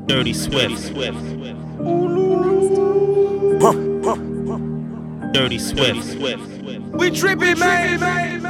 Dirty Swift. Dirty Swift. We trippin', man.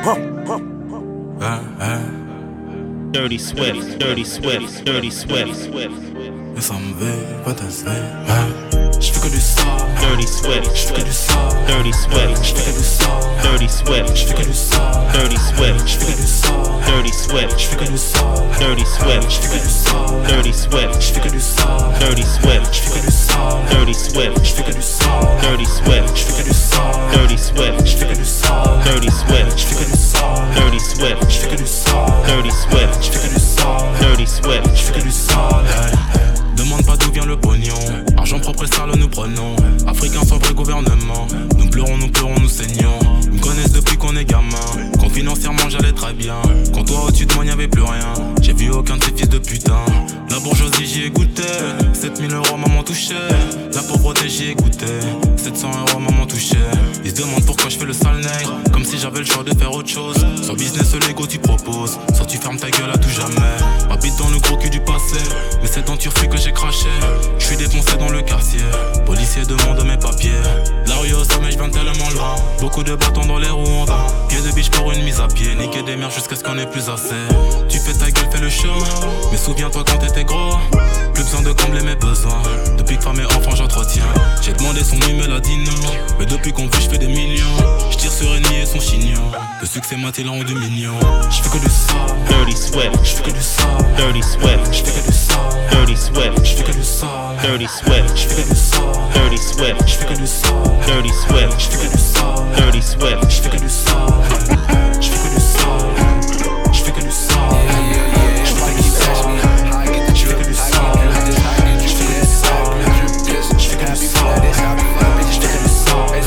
Dirty Swift. Dirty Swift. Dirty Swift. Mais ça me veille, pas t'as j'fais que du sale. Dirty Swift. J'fais que du sale. Dirty Swift. J'fais que du sale. Dirty Swift. J'fais que du sale. Dirty Swift. J'fais que du sale. Dirty Swift. J'fais que du sale. Dirty Swift. J'fais que du sale. Dirty Swift. J'fais que du sale. Dirty Swift. J'fais que du sale. Dirty Swift. J'fais que du sale. Dirty Swift. J'fais que du sale. Dirty Swift. J'fais que du sale. Dirty Swift. J'fais que du sale. Dirty Swift. J'fais que du sale. Dirty Swift. J'fais que du sale. Dirty Swift. J'fais que du sale. Demande pas d'où vient le pognon. Argent propre et sale nous prenons. Africains sans vrai gouvernement. Nous pleurons, nous saignons. Ils me connaissent depuis qu'on est gamin. Quand financièrement j'allais très bien. Quand toi au-dessus de moi y'avait plus rien. J'ai vu aucun de ces fils de putain. La bourgeoisie j'y ai goûté. 7000 € maman touchait. La pauvreté j'y ai goûté. 700 € maman touchait. Ils se demandent pourquoi je fais le sale nègre. Comme si j'avais le choix de faire autre chose. Sur business Lego tu proposes. Soit tu fermes ta gueule à tout jamais. Habite dans le gros cul du passé. Mais c'est dans Turfu que j'ai craché. Je suis défoncé dans le quartier. Policier demande mes papiers. La rue au sommet, je viens tellement loin. Beaucoup de bâtons dans les roues en vain. Pied de biche pour une mise à pied. Niquer des mères jusqu'à ce qu'on ait plus assez. Tu fais ta gueule, fais le show. Mais souviens-toi quand t'étais gros. Plus besoin de combler mes besoins. Depuis que femme et enfant j'entretiens. J'ai demandé son numéro, elle a dit non. Mais depuis qu'on vit, je fais des millions. Je tire sur ennemi et son chignon. Le succès m'a-t-il rendu mignon. Je fais que du sale. Dirty Swift. Je fais que du sale. Dirty Swift. Je fais que du sale. Dirty Swift. Je fais que du sale. Dirty Swift. Je fais que du sale. Dirty Swift. Je fais que du sale. Dirty Swift. Je fais que du sale. Dirty Swift. Je fais que du sale. Je fais que du sale. Je fais que du sale. Je fais que du sale. Je fais que du sale. Je fais que du sale. Je fais que du sale. Je fais que du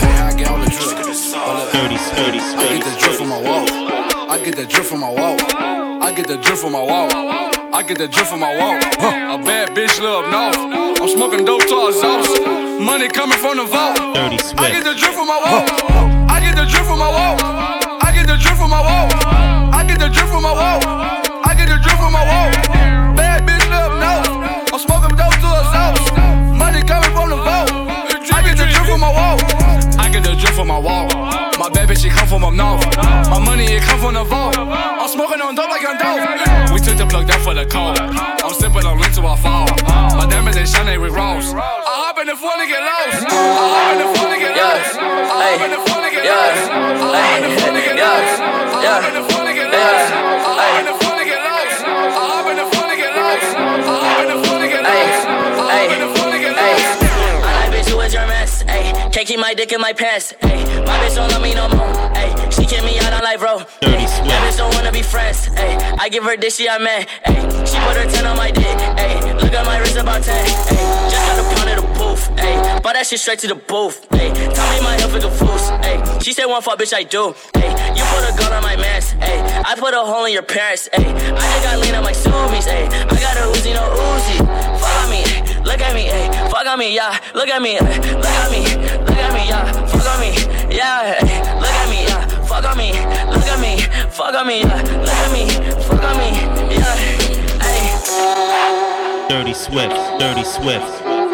sale. Dirty Swift. I get the drip from my wall. I get the drip from my wall. I get the drip from my wall. I get the drip from my wall. A bad bitch live up north. I'm smoking dope to our sauce. Money coming from the vault. Dirty Swift. I get the drip from my wall. I get the drip from my wall. I get the drip from my wall. I get the drip from my wall. I get the drip from my wall. Bad bitch live up north. I'm smoking dope to our sauce. Money coming from the vault. I get the drip from my wall. I get the drip from my wall. My bad bitch, she come from up north. My money, it come from the vault. I'm smoking on dope like I'm dope. We took the plug down for the cold. I'm sipping on lean till I fall. My diamonds, they shine, they Rick Ross. I hop in the phone to get lost. I hop in the phone to get lost. I hop in the phone to get lost. I hop in the phone to get lost. I hop in the phone to get lost. I hop in the phone to get lost. I hop in the phone to get lost. I hop in the phone to get lost. I hop in the phone to get lost. I like bitch, who is your mess? Ayy, can't keep my dick in my pants. Ayy, my bitch don't love me no more. Ayy, she kick me out on life, bro. Ayy, that bitch don't wanna be friends. Ayy, I give her dick, she I man. Ayy, she put her 10 on my dick. Ayy, look at my wrist about 10. Ayy, just got a pound of the booth. Ayy, bought that shit straight to the booth. Ayy, tell me my health is a fool's. Ayy, she said one fuck, bitch, I do. Ayy, you put a gun on my mans. Ayy, I put a hole in your parents. Ayy, I just got lean on my Subies. Ayy, I got a Uzi, no Uzi. Fuck on me, look at me. Ayy, fuck on me, yeah. Look at me, look at me, look at me, yeah. Fuck on me, yeah. Ayy, look at me, yeah. Fuck on me, look at me, fuck on me, yeah. Look at me, fuck on me, yeah. Ayy. Dirty Swift. Dirty Swift.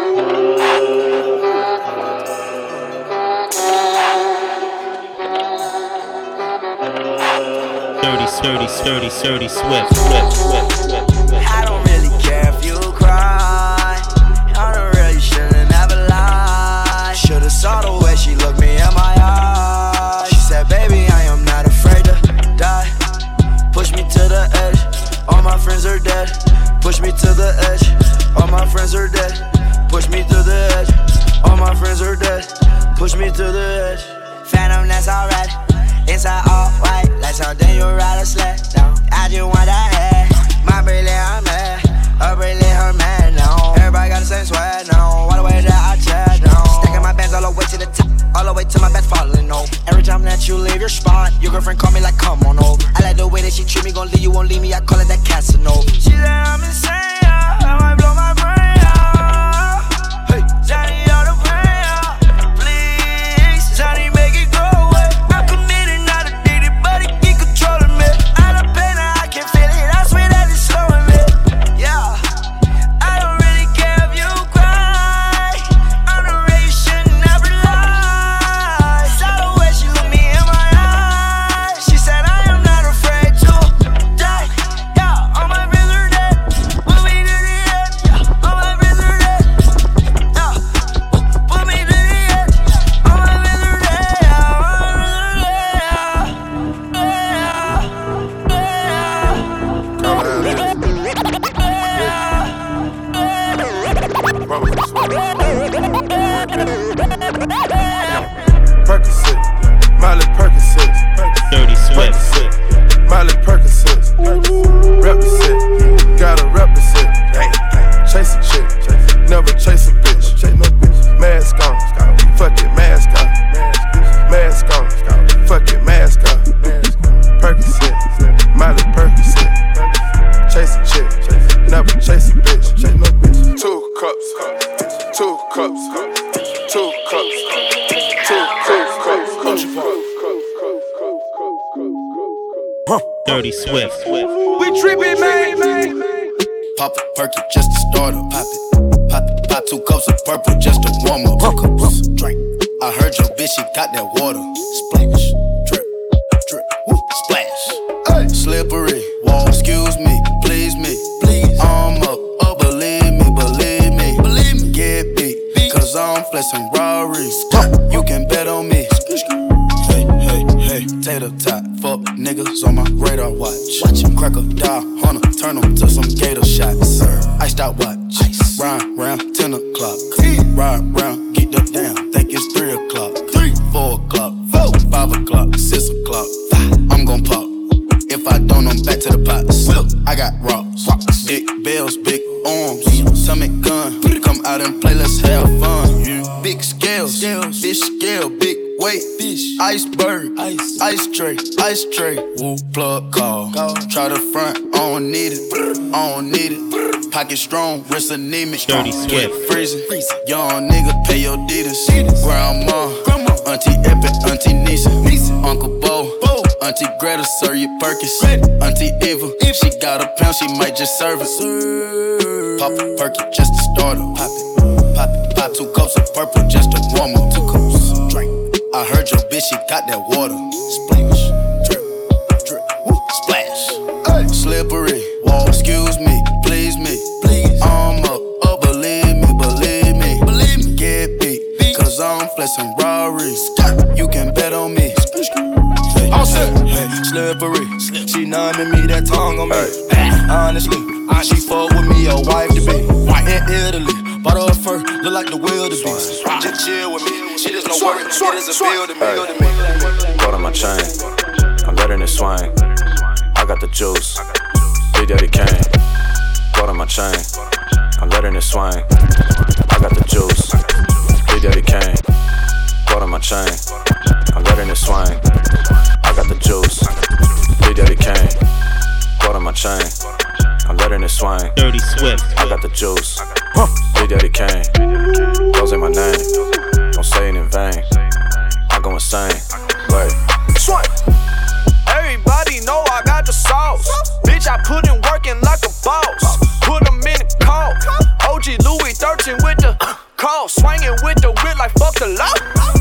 Dirty Swift. I don't really care if you cry. I don't really shouldn't ever lie. Should've saw the way she looked me in my eyes. She said, baby, I am not afraid to die. Push me to the edge. All my friends are dead. Push me to the edge. All my friends are dead. Push me to the edge. All my friends are dead. Push me to the edge. Phantom, that's alright. Inside all white, like something you ride a sled down. I just want that head. My brilliant, I'm mad. Her brilliant, her man now. Everybody got the same swag now. All the way that I chat now. Stacking my bands all the way to the top. All the way to my bed falling over. Every time that you leave your spot, your girlfriend call me like, come on over. I like the way that she treat me, gon' leave you, won't leave me. I call it that Casanova. She said I'm insane, yeah. I might blow my brain out. Hey, Johnny, all the pain out. Please, Johnny, make it go away. I'm committed, not addicted, but it keep controlling me. I love pain, I can feel it. I swear that it's slowing me. Yeah, I don't really care Dirty Swift. We tripping, man. Pop a perky just to start up. Pop it. Pop 2 cups of purple just to warm up. 2 cups, drink. I heard your bitch, she got that water. Splash, drip, drip, woo, splash. Hey. Slippery, wall, excuse me, please me. Please. I'm up, oh, believe me. Get beat, cause I'm flexing Rarries. You can bet on me. Hey, tater tot, fuck niggas on my radar watch. Watch him crack a dial, hunter, turn them to some gator shots. Iced out watch, ride round 10 o'clock. Ride round, get the down, think it's 3 o'clock. 4 o'clock, 5 o'clock, 6 o'clock. I'm gon' pop. If I don't, I'm back to the pots. I got rocks, big bells, big arms, stomach gun. Come out and play, let's have fun. Big scales, fish scale, big weight, fish, iceberg, ice tray, woo, plug call. Try the front, I don't need it. Pocket strong, wrist anemic. Dirty Swift. Freezing, young nigga, pay your deeders. Grandma, Auntie Epic, Auntie Nisa, Uncle Bo, Auntie Greta, serve you Perkins. Auntie Eva, if she got a pound, she might just serve it. Pop a perky just to start her. Pop 2 cups of purple just to warm up. 2 cups, drink. I heard your bitch, she got that water. Splash, drip, drip, woo, splash. Hey. Slippery, wall, excuse me, please me. I'm up, oh, believe me. Get beat, cause I'm flexing Rarries. You can bet on me. Hey, slippery, she numbing me, that tongue on me. Honestly, she fuck with me, a wife to be. In Italy, bought her a fur, look like the wildebeest. Just chill with me, she just no worry, it is a bill to me. Got on my chain, I'm letting it swing. I got the juice, Big Daddy Kane. Got on my chain, I'm letting it swing. I got the juice, Big Daddy Kane. Got on my chain, I'm letting it swing. I got the juice, Big Daddy Kane. Got on my chain, I'm letting it swing. Dirty Swift. I got the juice, Big Daddy Kane. Those ain't my name, don't say it in vain. I go insane, wait. Everybody know I got the sauce. Bitch, I put in working like a boss. Put them in the coat. OG Louis 13 with the call. Swinging with the whip like fuck the law.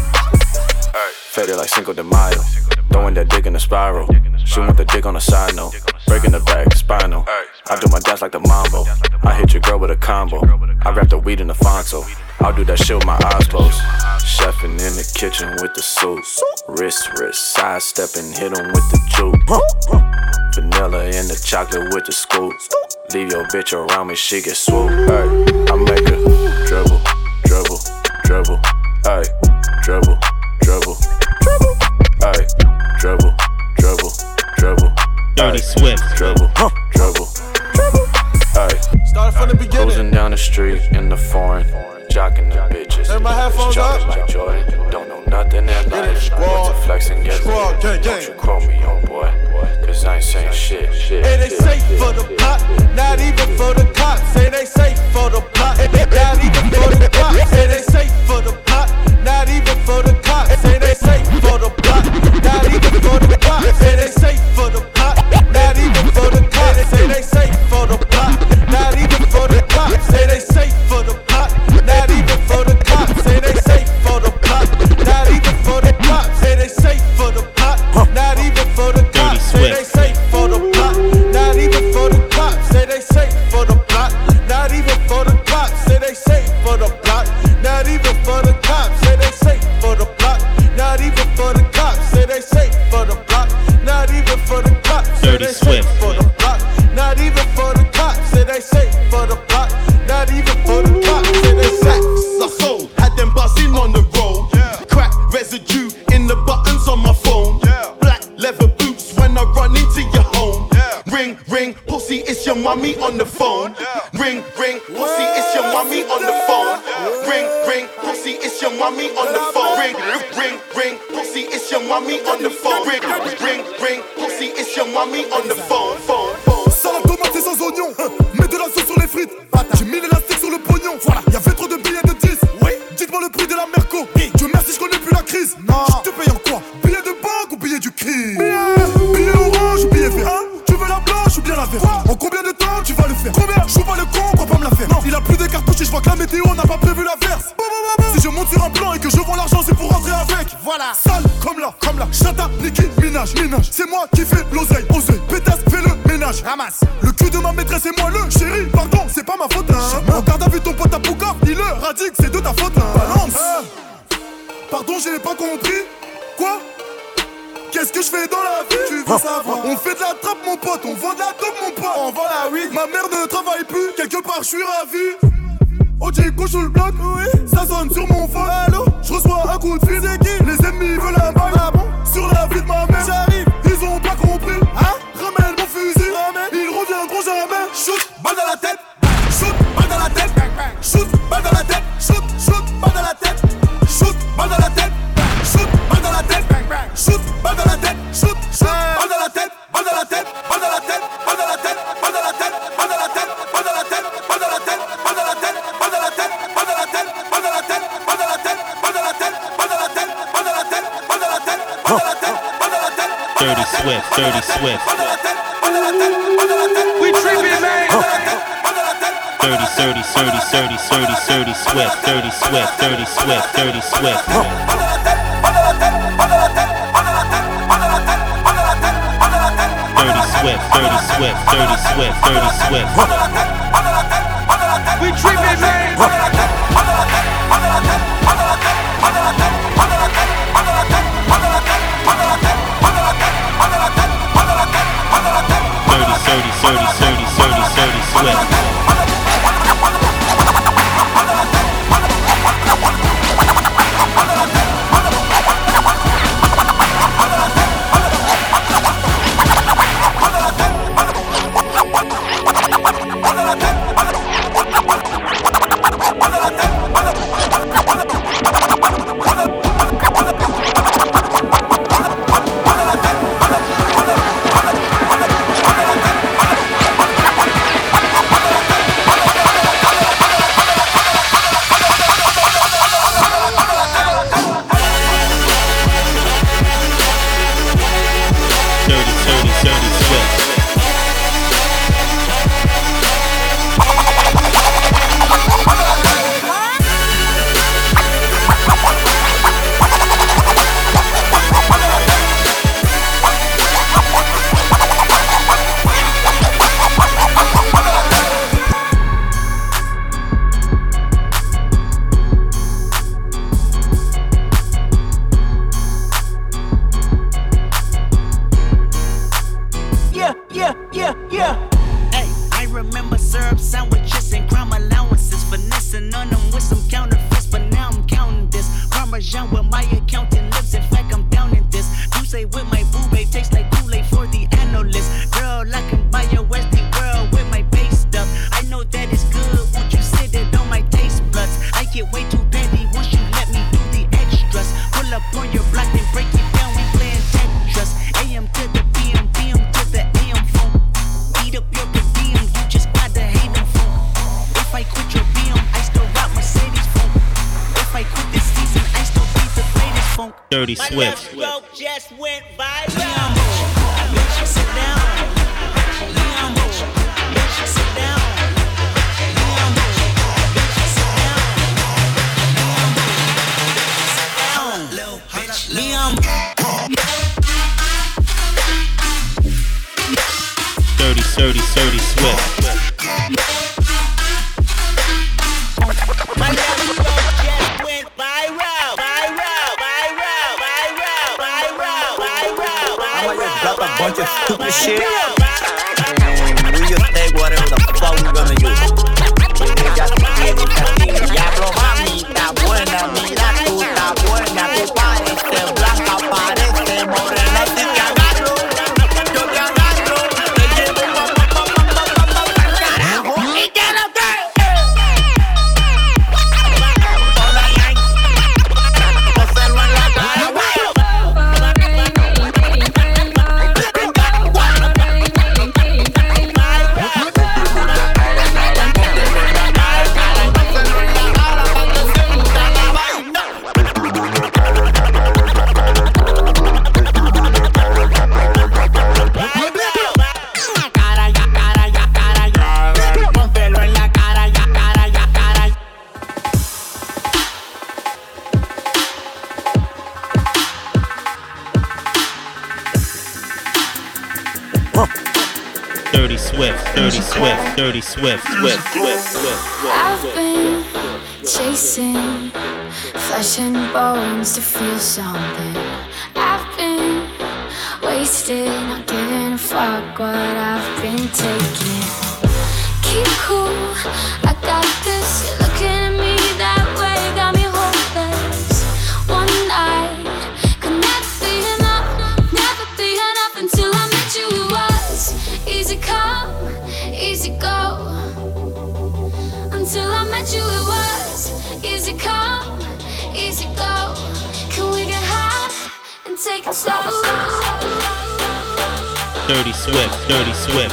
Faded like Cinco de Mayo, throwing that dick in the spiral. She want the dick on the side note, breaking the back, spinal. I do my dance like the mambo, I hit your girl with a combo. I wrap the weed in the Fonto, I'll do that shit with my eyes closed. Chefing in the kitchen with the soup. Wrist, sidestepping, hit him with the juke. Vanilla in the chocolate with the scoop. Leave your bitch around me, she get swooped. Ay, I make her dribble, dribble, dribble. Ay, dribble, dribble, dribble. Ay, dribble, dribble, dribble. Dirty Swift. Dribble, dribble, dribble. Ay, Started from the beginning. cruising down the street in the foreign, jocking the bitches. Turn my headphones Jogging up. like Jordan, don't know nothing in life. Squad. To flex and get Squad, lit. gang, Don't gang. you quote me on boy, cause I ain't saying shit. Hey, they safe for the plot, not even for the cops. Say they safe for the plot, not even for the cops. Say they safe for the plot, not even for the cops. Say they safe for the plot, not even for the cops. Say they safe for the plot, not even for the cops. Say they safe for the plot, not even for the cops. Say they safe for the plot, not even for the cops. Say they safe for the plot, not even for the cops. Say they safe for the plot, not even for the cops. Say they safe for the plot, not even for the cops. Say they safe for the plot, not even for the cops. Say they safe for the plot, not even for the cops. Say they safe for the plot, not even for the cops. Say they safe for the plot, not even for the cops. Say they safe for the plot, not even for the cops. Say they safe for the plot, not even for the cops. Say they safe. I sold, had them buzzing on the road. Crack residue in the buttons on my phone. Black leather boots when I run into your home. Ring, ring, pussy, it's your mummy on the phone. Ring, ring, pussy, it's your mummy on the phone. Ring, ring, pussy, it's your mummy on the phone. Ring, ring, ring, pussy, it's your mummy on the phone. Ring, ring, ring, pussy, it's your mummy on the phone. Salade tomate et sans oignon, mets de la sauce sur les frites. J'ai mis l'élastique sur le pognon. Voilà, y'avait trop de billets de 10. Oui, dites-moi le prix de la Merco. Dieu merci, je connais plus la crise. Non, je te paye en quoi? Billet de banque ou billet du crime? Billet orange ou billet ménage, c'est moi qui fais l'oseille, oseille. Pétasse, fais le ménage, ramasse. Le cul de ma maîtresse et moi le chéri, pardon, c'est pas ma faute, hein. Regarde à vue ton pote à Poucard, il le radique, c'est de ta faute, hein. Balance. Pardon, j'ai pas compris. Quoi? Qu'est-ce que je fais dans la vie? Tu veux savoir? On fait de la trappe mon pote, on vend de la dope mon pote. On vend la weed, ma mère ne travaille plus. Quelque part je suis ravi. Ojico sous le bloc, oui. Ça sonne sur mon phone. Allô? Je reçois un coup de fil. C'est qui? Les ennemis veulent un bail. Ah bon? Sur la vie de ma mère. J'arrive, ils ont pas compris. Hein? Ramène mon fusil. Ramène. Ils reviendront jamais. Shoot, balle dans la tête. Shoot, balle dans la tête. Shoot, balle dans la tête. Shoot, shoot, balle dans la tête. Shoot, balle dans la tête. Shoot, balle dans la tête. Shoot, balle dans la tête. Shoot, shoot, balle dans la tête. Balle dans la tête. Balle dans la tête. Balle dans la tête. Balle dans la tête. Balle dans la tête. Balle dans la tête. Balle dans la tête. Balle dans la tête. Balle dans la tête. Balle dans la tête. Balle dans la tête. Balle dans la tête. Balle dans la tête. Balle dans la tête. Balle dans la tête. Balle dans la tête. Balle dans la tête. Balle dans la tête. Dirty Swift, Dirty Swift. We trippin', man. Dirty Swift, Dirty Swift, Dirty Swift, Dirty Swift. Dirty Swift, Dirty Swift, Dirty Swift. We trippin', man. Dirty Swift. Dirty Swift. Just went viral. Sit down. Sit down. Dirty Swift. My little just went viral. Drop a bunch of stupid shit, and we just take whatever the fuck we're gonna use. Diablo, mamita buena, mira tú está buena, tú pareces blanca, parece morena, si te agarro, yo te agarro, te llevo carajo, y que lo que hacerlo en la cara, Dirty Swift, Dirty Swift, Dirty Swift, Swift, Swift, Swift. I've been chasing flesh and bones to feel something. I've been wasted, not giving a fuck what I've been taking. Keep cool, I got this. You're looking at me that way, got me hopeless. One night could never be enough until I met you. It was easy come, easy go. Until I met you, it was easy come, easy go. Can we get high and take it slow? Dirty Swift, Dirty Swift.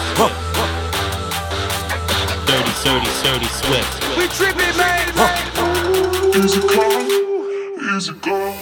Dirty Swift. We trippin', man. Easy come, easy go.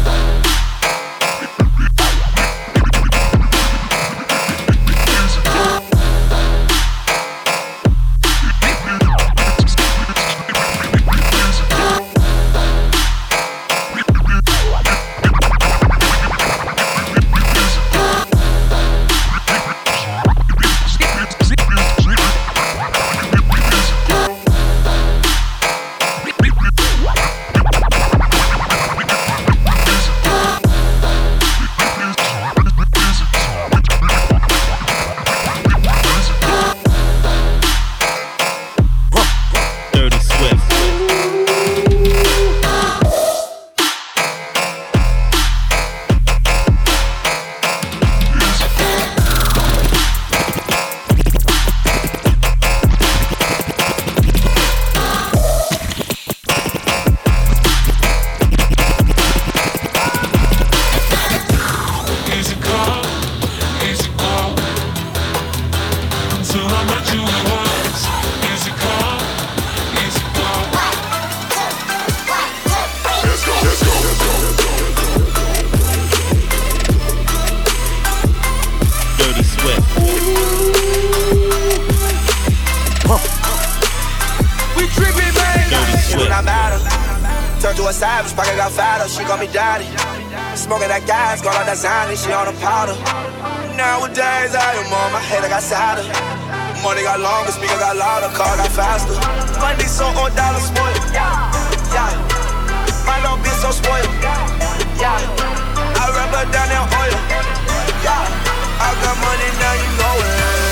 Smoking that gas, got all that Zany, she on the powder. Nowadays I am on my head, I got sadder. Money got longer, speaker got louder, car got faster. Money so on dollar spoiled, yeah. My little bitch so spoiled, yeah. I rub her down in oil, yeah. I got money, now you know it.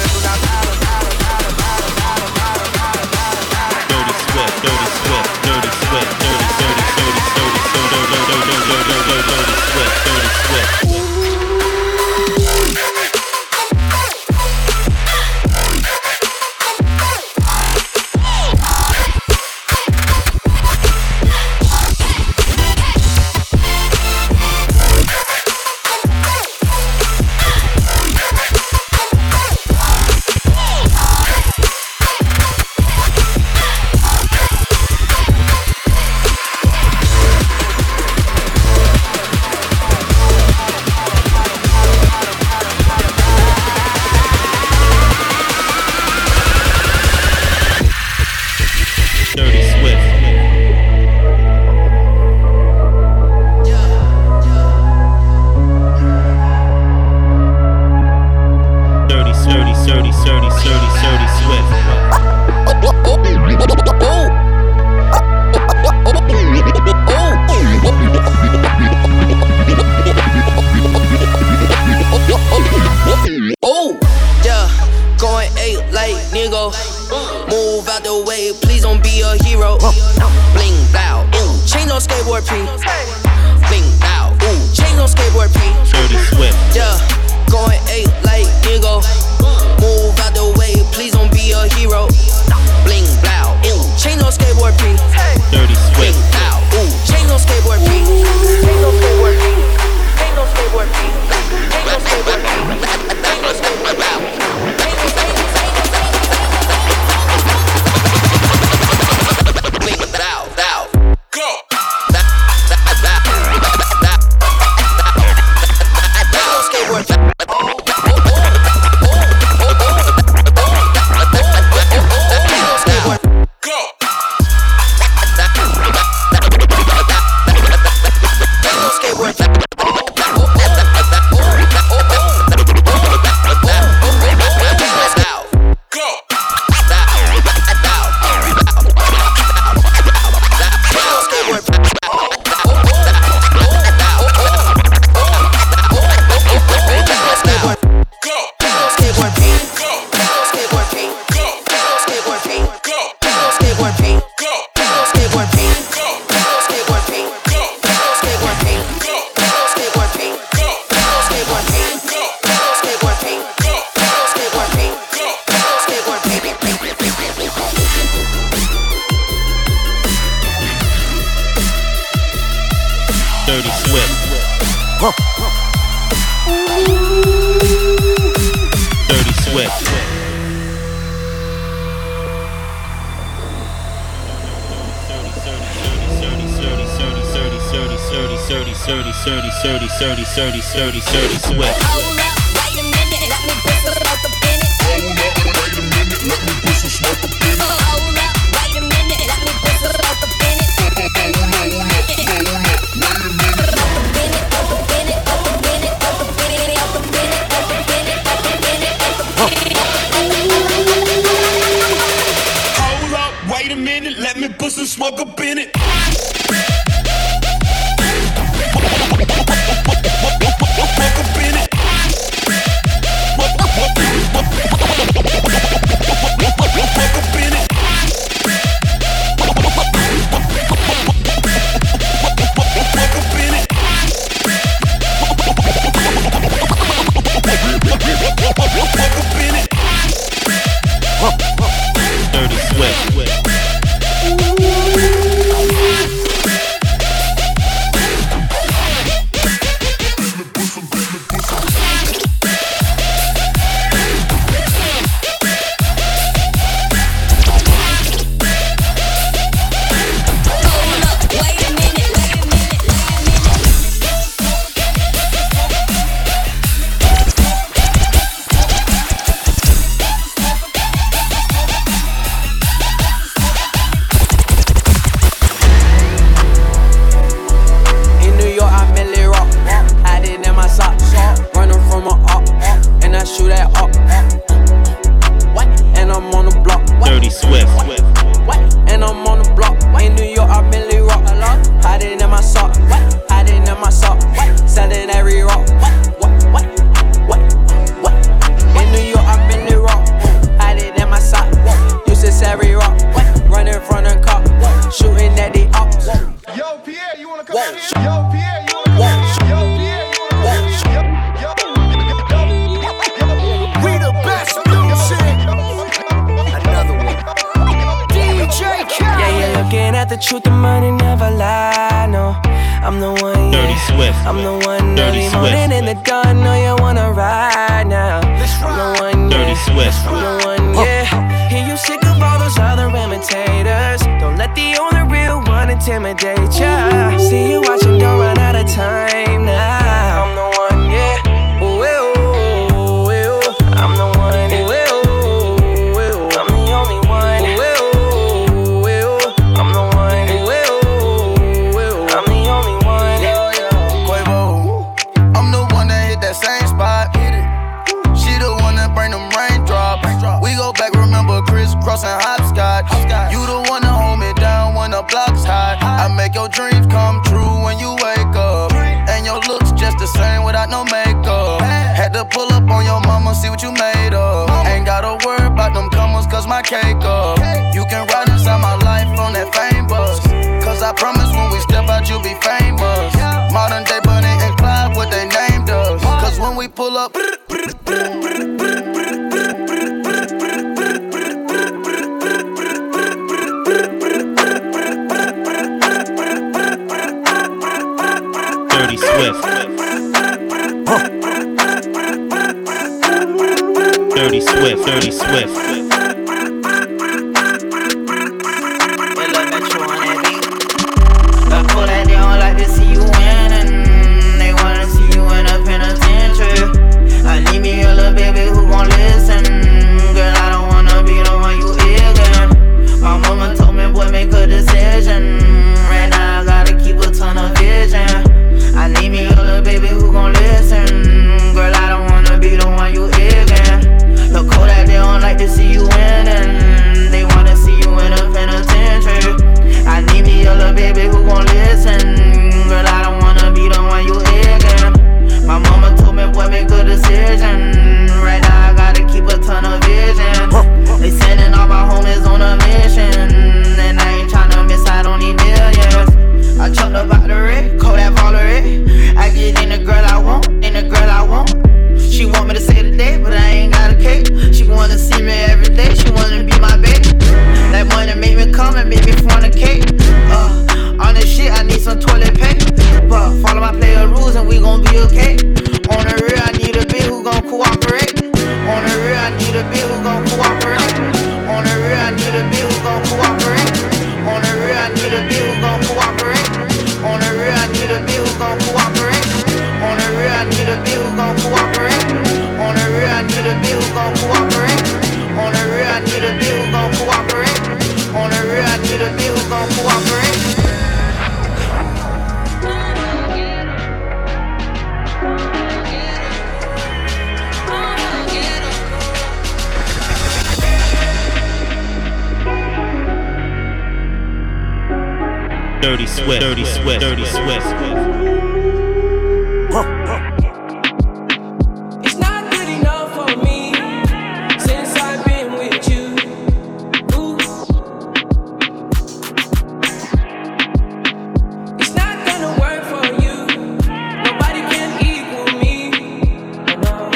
Dirty Swift, Dirty Swift, Dirty Swift, Dirty Swift, Dirty Swift. Dirty Swift. Swift. Hold up, wait a minute, let me put some smoke up in it. Hold up, wait a minute, let me put some smoke up in it. Hold up, wait a minute, let me put some smoke up in it. Hold up, wait a minute, let me put some smoke up in it. Dirty Swift. the truth, the money never lie, no. I'm the one, yeah. Dirty Swift. I'm the one, Dirty Swift. morning in the dawn, know you wanna ride now. I'm the one, yeah. Dirty Swift. I'm the one, yeah. Hear you sick of all those other imitators. Don't let the only real one intimidate ya. See you watching, don't run out of time now. I'm the one, yeah. Ooh, ooh, ooh. I'm the one, ooh, ooh, ooh. I'm the only one, ooh, ooh, ooh. I'm the one, ooh, ooh, ooh. I'm the only one, Quavo. I'm the one that hit that same spot. She the one that bring them raindrops. We go back, remember crisscross and hopscotch. You the one that hold me down when the block's hot. I make your dreams come true when you wake up. And your looks just the same without no makeup. Had to pull up on your mama, see what you made of. Ain't gotta worry about them comers, cause my cake up. You can ride inside my life on that fame bus. Cause I promise when we step out, you'll be famous. Modern day Bonnie and Clyde, what they named us. Cause when we pull up, Dirty Swift. Dirty Swift. Dirty Swift. Pull that they don't like to see you winning. They wanna see you in a penitentiary. I need me a little baby who gon' listen. Girl, I don't wanna be the one you ignorant. My mama told me, boy, make a decision. Right now I gotta keep a ton of vision. I need me a little baby who gon' listen. Girl, I don't wanna be the one you ignorant. Look cold that they don't like to see you I need a bitch who gon' cooperate. On the real, I need a bitch who gon' cooperate. On the real, I need a bitch who gon' cooperate. On the real, I need a bitch who gon' cooperate. On the real, I need a bitch who gon' cooperate. On the real, I need a bitch who gon' cooperate. On the real, I need a bitch who gon' cooperate. On the real, I need a bitch who gon' cooperate. Dirty Swift, Dirty Swift, Dirty Swift. It's not good enough for me since I've been with you. Ooh. It's not gonna work for you. Nobody can equal me. No.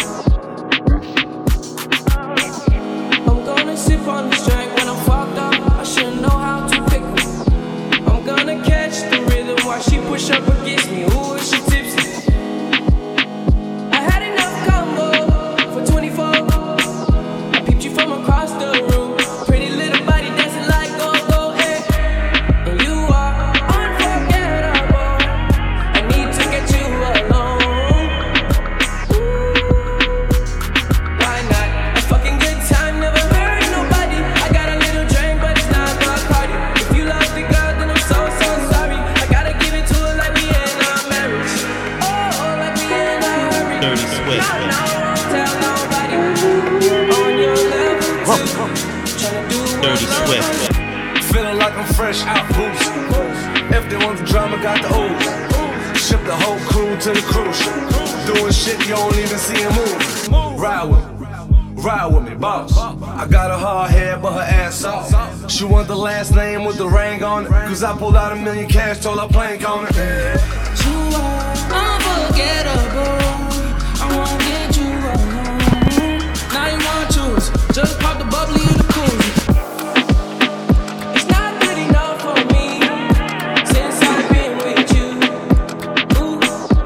I'm gonna sip on this drink when I'm fucked up. I should know how to pick 'em. I'm gonna catch the rhythm while she push up against me. Ooh, is she tipsy? I had enough combo for 24. I peeped you from across the room. Pretty little body dancing like go-go, eh? And you are unforgettable. I need to get you alone. Ooh, why not? A fucking good time, never hurt nobody. I got a little drink, but it's not the party. If you love the girl, then I'm so sorry. I gotta give it to her like we in our marriage. Oh, like we in a hurry. Dirty Swift. No, tell nobody. On your level too. Tryna do Dirty Swift. Feeling like I'm fresh out boost. If they want the drama, got the ooze. Ship the whole crew to the cruise. Doing shit you don't even see him move. Ride with me, boss. I got a hard head, but her ass off. She want the last name with the ring on it. Cause I pulled out $1 million cash, told her plank on it. You are unforgettable. I wanna get you alone. Now you wanna choose. Just pop the bubbly in the cooler. It's not good enough for me since I've been with you. Ooh.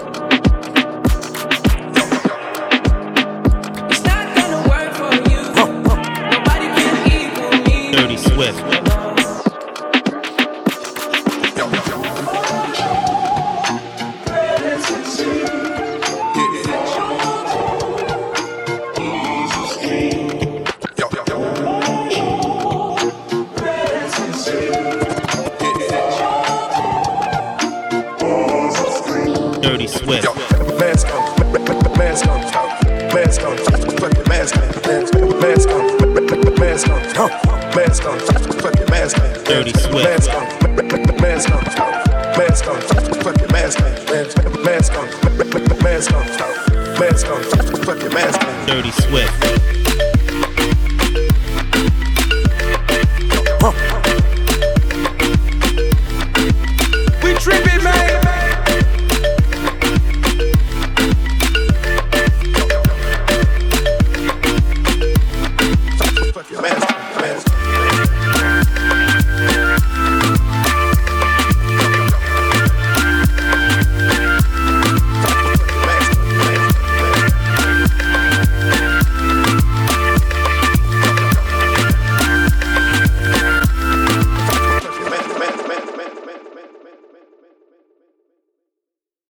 It's not gonna work for you. Nobody can equal me. Dirty Swift. Dirty Swift. Mask on, mask on, mask on, fucking mask on, mask on, mask on, mask on, fucking mask on. Dirty Swift. Mask on, mask on, mask on, fucking mask on, mask on, mask on, mask on, fucking mask on. Dirty Swift.